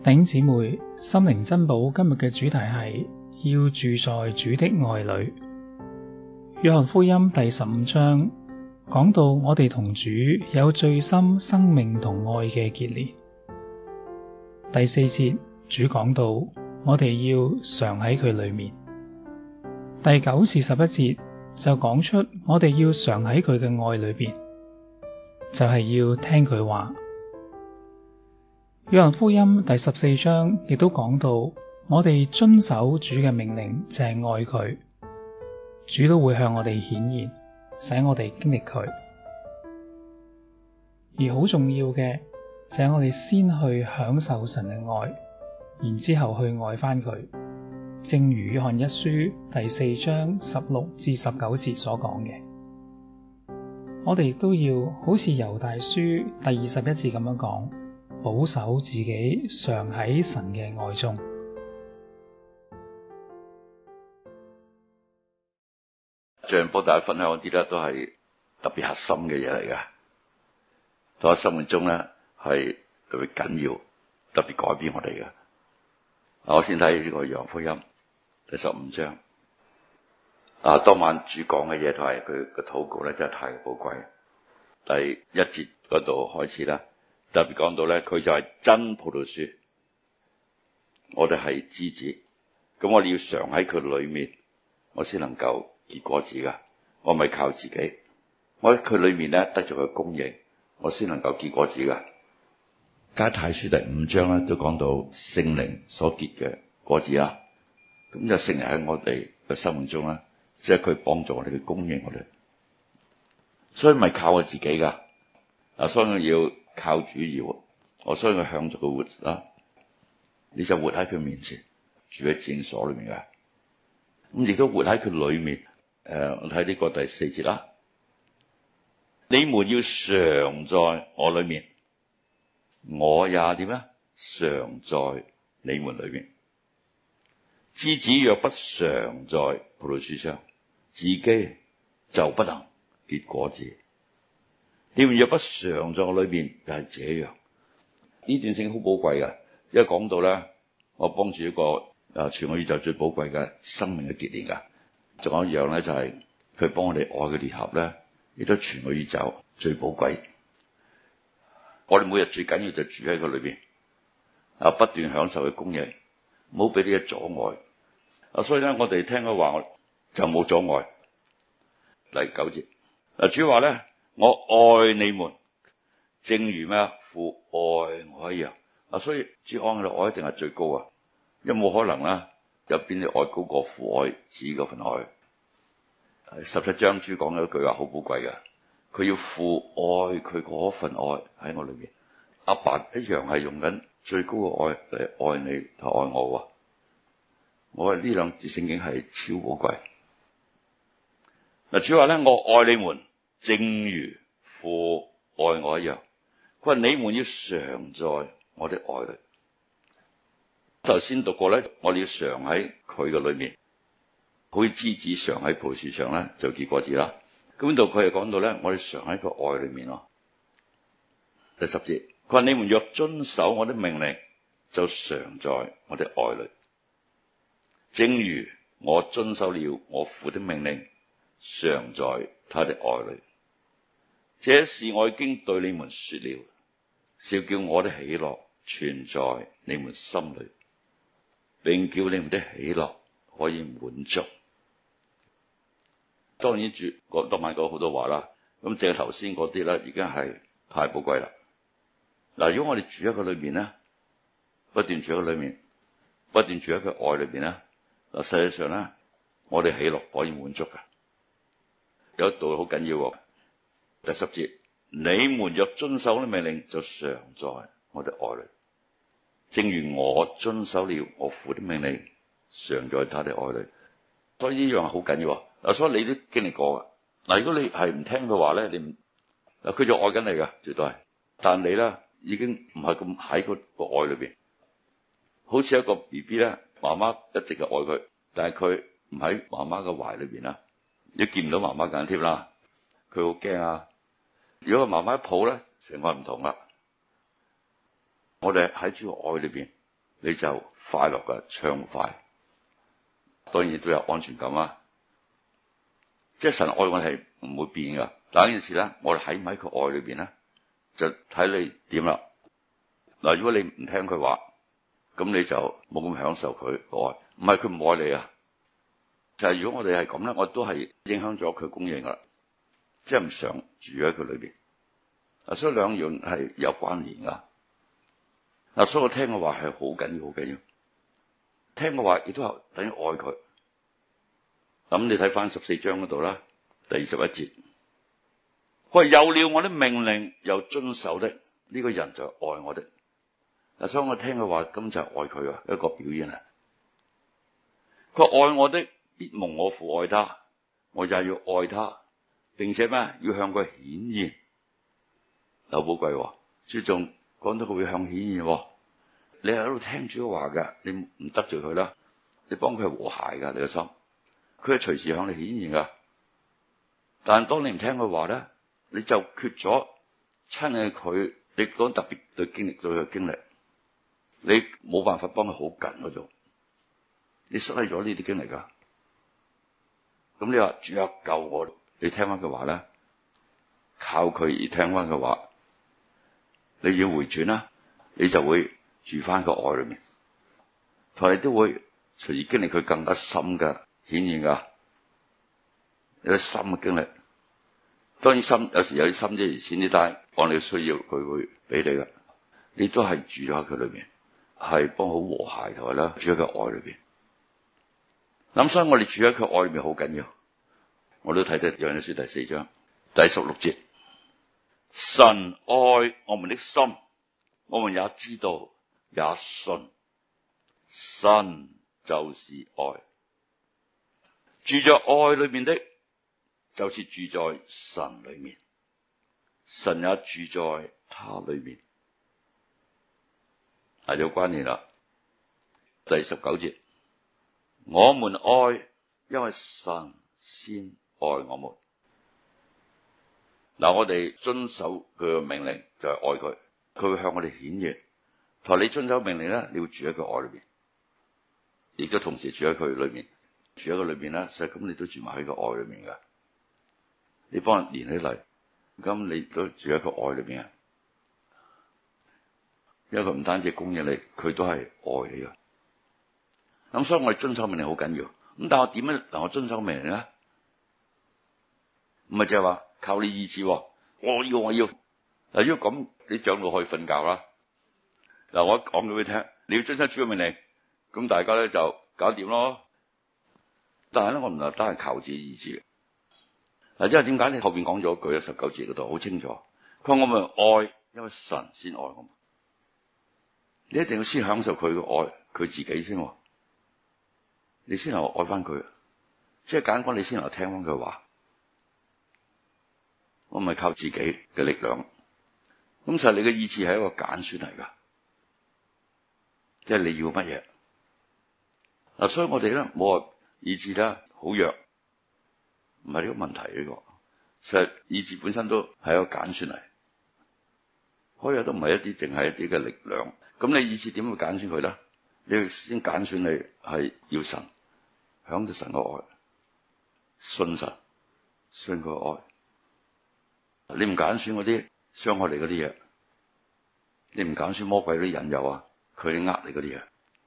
弟兄姊妹，心靈珍寶今日嘅主題係要住在主的愛裡。約翰福音第15章講到我哋同主有最深生命同愛嘅結連。第4節主講到我哋要常喺佢裡面。第9至11節就講出我哋要常喺佢嘅愛裡邊，就係要聽佢話。約翰福音第14章亦都講到，我哋遵守主嘅命令就係愛佢，主都會向我哋顯現，使我哋經歷佢。而好重要嘅就係我哋先去享受神嘅愛，然之後去愛返佢。正如約翰一書第4章16至19節所講嘅，我哋亦都要好似猶大書第21節咁樣講，保守自己常喺神嘅愛中。 最近幫大家分享嗰啲咧，都係特別核心嘅嘢嚟嘅，喺我生命中咧係特別緊要、特別改變我哋嘅。我先睇呢個約翰福音第15章。當晚主講嘅嘢同埋佢嘅禱告咧，真係太寶貴。第1節嗰度開始啦。特別講到咧，佢就係真葡萄樹，我哋係枝子，咁我哋要常喺佢裡面，我先能夠結果子噶。我唔係靠自己，我喺佢裡面咧得咗佢供應，我先能夠結果子噶。加拉太書第5章咧都講到聖靈所結嘅果子啦，咁就聖靈喺我哋嘅生命中啦，即係佢幫助我哋去供應我哋，所以唔係靠我自己噶。所以我要靠主而活，我所以我向着佢活啦。你就活喺佢面前，住喺聖所裏面嘅，咁亦都活喺佢裏面。我睇呢個第4節啦。你們要常在我裏面，我也點咧？常在你們裏面。枝子若不常在葡萄樹上，自己就不能結果子。你們若不常在我裏面，就係這樣。呢段聖經好寶貴嘅，因為講到咧，我幫住一個全個宇宙最寶貴嘅生命嘅結連噶。仲有一樣咧，就係佢幫我哋愛嘅聯合咧，亦都全個宇宙最寶貴。我哋每日最緊要就住喺佢裏邊，不斷享受佢供應，唔好俾呢啲阻礙。所以咧，我哋聽佢話就冇阻礙。第9節，主話咧。我愛你們，正如咩父愛我一樣。所以主愛嘅愛一定係最高啊，因為冇可能啦，有邊啲愛高過父愛子嗰份愛。17章主講咗一句話好寶貴嘅，佢要父愛佢嗰份愛喺我裏面。阿爸一樣係用緊最高嘅愛嚟愛你同愛我。我係呢兩節聖經係超寶貴。主話咧，我愛你們。正如父愛我一樣，佢話你們要常在我的愛裡。頭先讀過咧，我哋要常喺佢嘅裏面，好似枝子常喺葡萄樹上咧就結果子啦。咁呢度佢係講到咧，我哋常喺個愛裡面咯。第10節，佢話你們若遵守我的命令，就常在我的愛裡，正如我遵守了我父的命令，常在他的愛裡。這事我已經對你們說了，是叫我的喜樂存在你們心裡，並叫你們的喜樂可以滿足。當然主當晚講好多話啦，咁正係頭先嗰啲咧，已經係太寶貴啦。嗱，如果我哋住喺佢裏面咧，不斷住喺佢裏面，不斷住喺佢愛裏邊咧，嗱，實際上咧，我哋喜樂可以滿足㗎。有一度好緊要喎。第10節，你們若遵守我的命令，就常在我的愛裡，正如我遵守了我父的命令，常在他的愛裡。所以呢樣好緊要啊！所以你都經歷過噶。嗱，如果你係唔聽嘅話咧，你唔佢就愛緊你噶，絕對係。但你咧已經唔係咁喺個愛裏邊，好似一個 BB 咧，媽媽一直嘅愛佢，但係佢唔喺媽媽嘅懷裏邊啦，你見唔到媽媽緊貼啦，佢好驚啊！如果個媽媽一抱咧，成個唔同啦。我哋喺主嘅愛裏邊， 你就快樂嘅暢快，當然都有安全感啊！即係神愛我係唔會變噶。但係呢件事咧，我哋喺唔喺佢愛裏邊咧，就睇你點啦。嗱，如果你唔聽佢話，咁你就冇咁享受佢愛。唔係佢唔愛你啊，就係如果我哋係咁咧，我都係影響咗佢供應噶，即係唔想住喺佢裏邊。所以兩樣係有關聯噶。嗱，所以我聽嘅話係好緊要，好緊要。聽嘅話亦都係等於愛佢。咁你睇翻14章嗰度啦，第21節，佢話有了我的命令又遵守的，呢個人就愛我的。嗱，所以我聽嘅話根本就係愛佢嘅一個表現啊。佢話愛我的必蒙我父愛他，我也要愛他，並且咩要向佢顯現。有寶貴，注重講到佢會向顯現。你喺度聽主嘅話嘅，你唔得罪佢啦，你幫佢和諧噶，你個心，佢係隨時向你顯現噶。但係當你唔聽佢話咧，你就缺咗親近佢，你講特別對經歷對佢經歷，你冇辦法幫佢好近嗰種，你失去咗呢啲經歷噶。咁你話主啊救我，你聽翻佢話咧，靠佢而聽翻佢話，你要回轉啦，你就會住翻個愛裏面，同你都會隨而經歷佢更加深嘅顯現噶，有啲深嘅經歷。當然深有時有啲深啫，而淺啲，但係按你需要佢會俾你噶。你都係住咗喺佢裏面，係幫好和諧同埋啦，住喺佢愛裏邊。咁所以我哋住喺佢愛裏面好緊要。我都睇得約翰一書第4章第16節，神愛我們的心，我們也知道也信，神就是愛。住在愛裏面的，就是住在神裏面，神也住在他裏面。係有關聯啦。第19節，我們愛，因為神先愛我們。嗱，我哋遵守佢嘅命令就係愛佢，佢會向我哋顯現。同你遵守命令咧，你會住喺佢愛裏邊，亦都同時住喺佢裏面，住喺佢裏邊咧，實咁你都住埋喺個愛裏面噶。你幫人連起嚟，咁你都住喺個愛裏邊啊。因為佢唔單止供應你，佢都係愛你噶。咁所以我哋遵守命令好緊要。咁但係我點樣能夠遵守命令咧？唔係淨係話靠你意志，我要。嗱，如果咁，你長老可以瞓覺啦。嗱，我講俾佢聽，你要遵守主嘅命令，咁大家咧就搞掂咯。但係咧，我唔係單係靠自己意志。嗱，因為點解你後邊講咗一句19節嗰度好清楚，佢話我們愛，因為神先愛我們。你一定要先享受佢嘅愛，佢自己先，你先能夠愛翻佢。即係簡單講，你先能夠聽翻佢話。我唔係靠自己嘅力量。咁實你嘅意志係一個揀選嚟噶，即係你要乜嘢。嗱，所以我哋咧冇話意志咧好弱，唔係呢個問題呢個。實意志本身都係一個揀選嚟，可以都唔係一啲淨係一啲嘅力量。咁你意志點會揀選佢咧？你要先揀選你係要神，享受神嘅愛，信神，信佢嘅愛。你唔揀選嗰啲傷害你嗰啲嘢，你唔揀選魔鬼嗰啲引誘啊，佢哋呃你嗰啲嘢。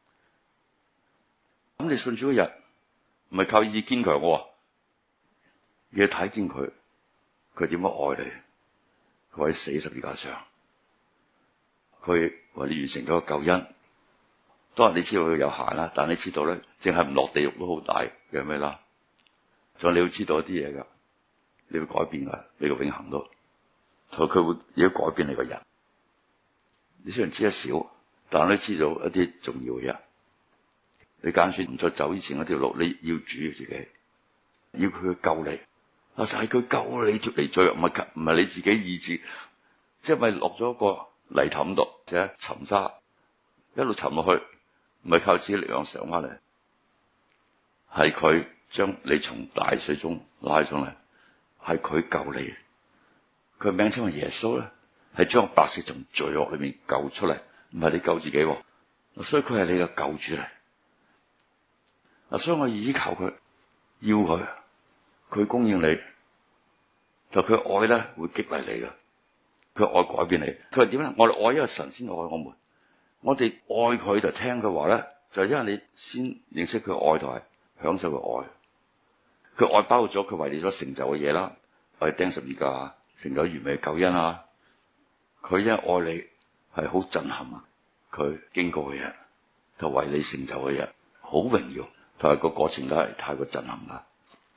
咁你信主嗰日唔係靠意志堅強嘅，你要睇見佢點樣愛你，佢喺死十字架上，佢為你完成咗個救恩。當然你知道佢有限啦，但你知道咧，淨係唔落地獄都好大嘅咩啦。仲有你要知道一啲嘢噶，你會改變噶，你個永恆都，同佢會亦都改變你個人。你雖然知得少，但你知道一啲重要嘅嘢。你揀選唔再走以前嗰條路，你要主要自己，要佢去救你。就係佢救你脫離罪惡，唔係你自己意志，即係咪落咗一個泥凼度，即係沉沙，一路沉落去，唔係靠自己力量上翻嚟，係佢將你從大水中拉上嚟，係佢救你。佢名稱為耶穌咧，係將百姓從罪惡裏面救出嚟，唔係你救自己。 所以佢係你嘅救主嚟。所以我依靠佢，要佢，佢供應你，就佢愛咧會激勵你嘅，佢愛改變你。佢係點咧？我哋愛因為神先愛我們，我哋愛佢就聽佢話咧，就因為你先認識佢愛同埋享受佢愛。佢愛包括咗佢為你所成就嘅嘢啦，為釘十字架成就完美嘅救恩啊！佢因為愛你係好震撼啊！佢經過嘅嘢就為你成就嘅嘢好榮耀，同埋個過程都係太過震撼啦。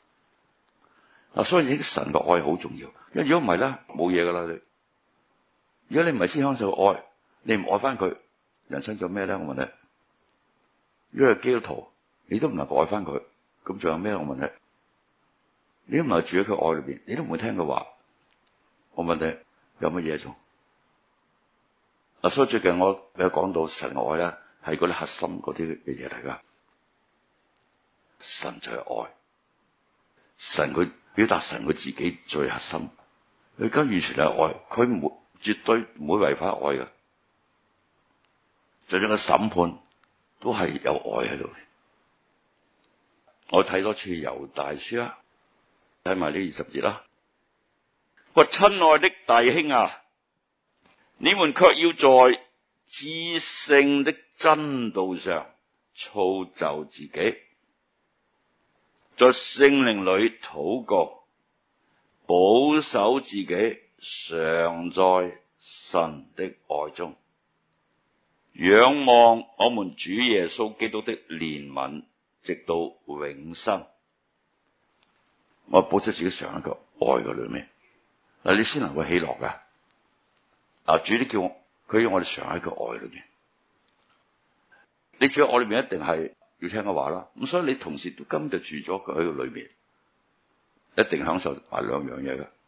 所以神嘅愛好重要，因為如果唔係咧，冇嘢噶啦你。如果你唔係先享受愛，你唔愛翻佢，人生仲有咩咧？我問你，如果係基督徒，你都唔能夠愛翻佢，咁仲有咩？我問你，你都唔係住喺佢愛裏邊，你都唔會聽佢話。我問你，有乜嘢做？所以最近我有講到神愛咧，係嗰啲核心嗰啲嘅嘢嚟噶。神就係愛，神佢表達神佢自己最核心，佢而家完全係愛，佢絕對唔會違反愛噶。就算個審判都係有愛喺度。我睇多次猶大書啦，睇埋呢20節啦。我親愛的弟兄啊，你們卻要在至聖的真道上操就自己，在聖靈裡禱告，保守自己，常在神的愛中，仰望我們主耶穌基督的憐憫，直到永生。我保守自己常喺個愛嘅裏面，嗱，你先能夠喜樂噶。主都叫佢要我哋常喺個愛裏面。你住喺愛裏面，一定係要聽佢話啦。咁所以你同時都根本就住咗佢喺個裏面，一定享受埋兩樣嘢噶。